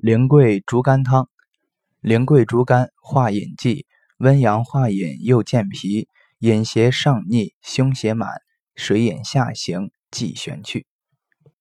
苓桂竹甘汤。苓桂竹甘化饮剂，温阳化饮又健脾，饮邪上逆，胸胁满，水饮下行，忌旋去。